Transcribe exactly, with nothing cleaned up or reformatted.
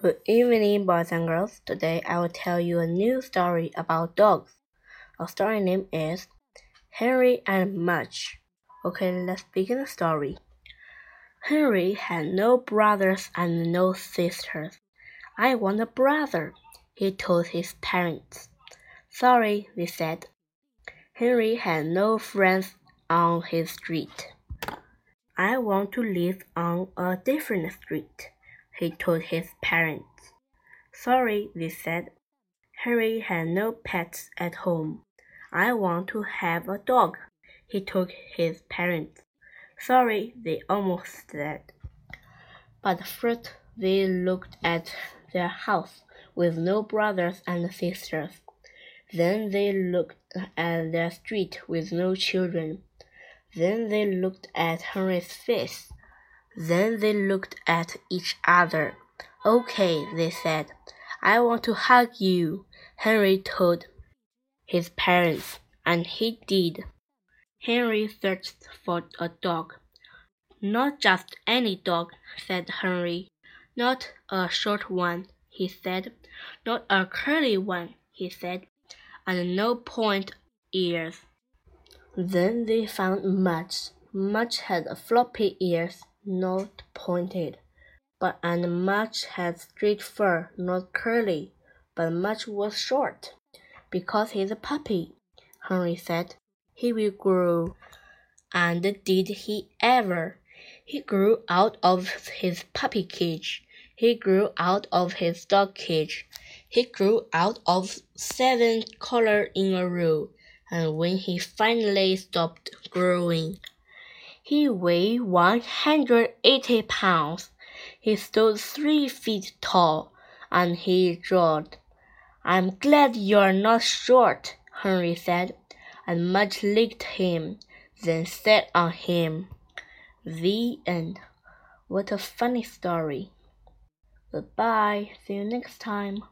Good evening, boys and girls. Today I will tell you a new story about dogs. Our story name is Henry and Mudge. Okay, let's begin the story. Henry had no brothers and no sisters. I want a brother, he told his parents. Sorry, they said. Henry had no friends on his street. I want to live on a different street, he told his parents. Sorry, they said. Henry had no pets at home. I want to have a dog, he told his parents. Sorry, they almost said. But first they looked at their house with no brothers and sisters. Then they looked at their street with no children. Then they looked at Henry's face. Then they looked at each other. Okay, they said. I want to hug you, Henry told his parents, and he did. Henry searched for a dog. Not just any dog, said Henry. Not a short one, he said. Not a curly one, he said. And no point ears. Then they found Mudge. Mudge had floppy ears, not pointed. But and Mudge had straight fur, not curly, but Mudge was short. Because he's a puppy, Henry said. He will grow. And did he ever? He grew out of his puppy cage. He grew out of his dog cage. He grew out of seven collars in a row. And when he finally stopped growing, he weighed one hundred eighty pounds. He stood three feet tall, and he drawled. I'm glad you're not short, Henry said, and Mudge licked him, then sat on him. The end. What a funny story. Goodbye. See you next time.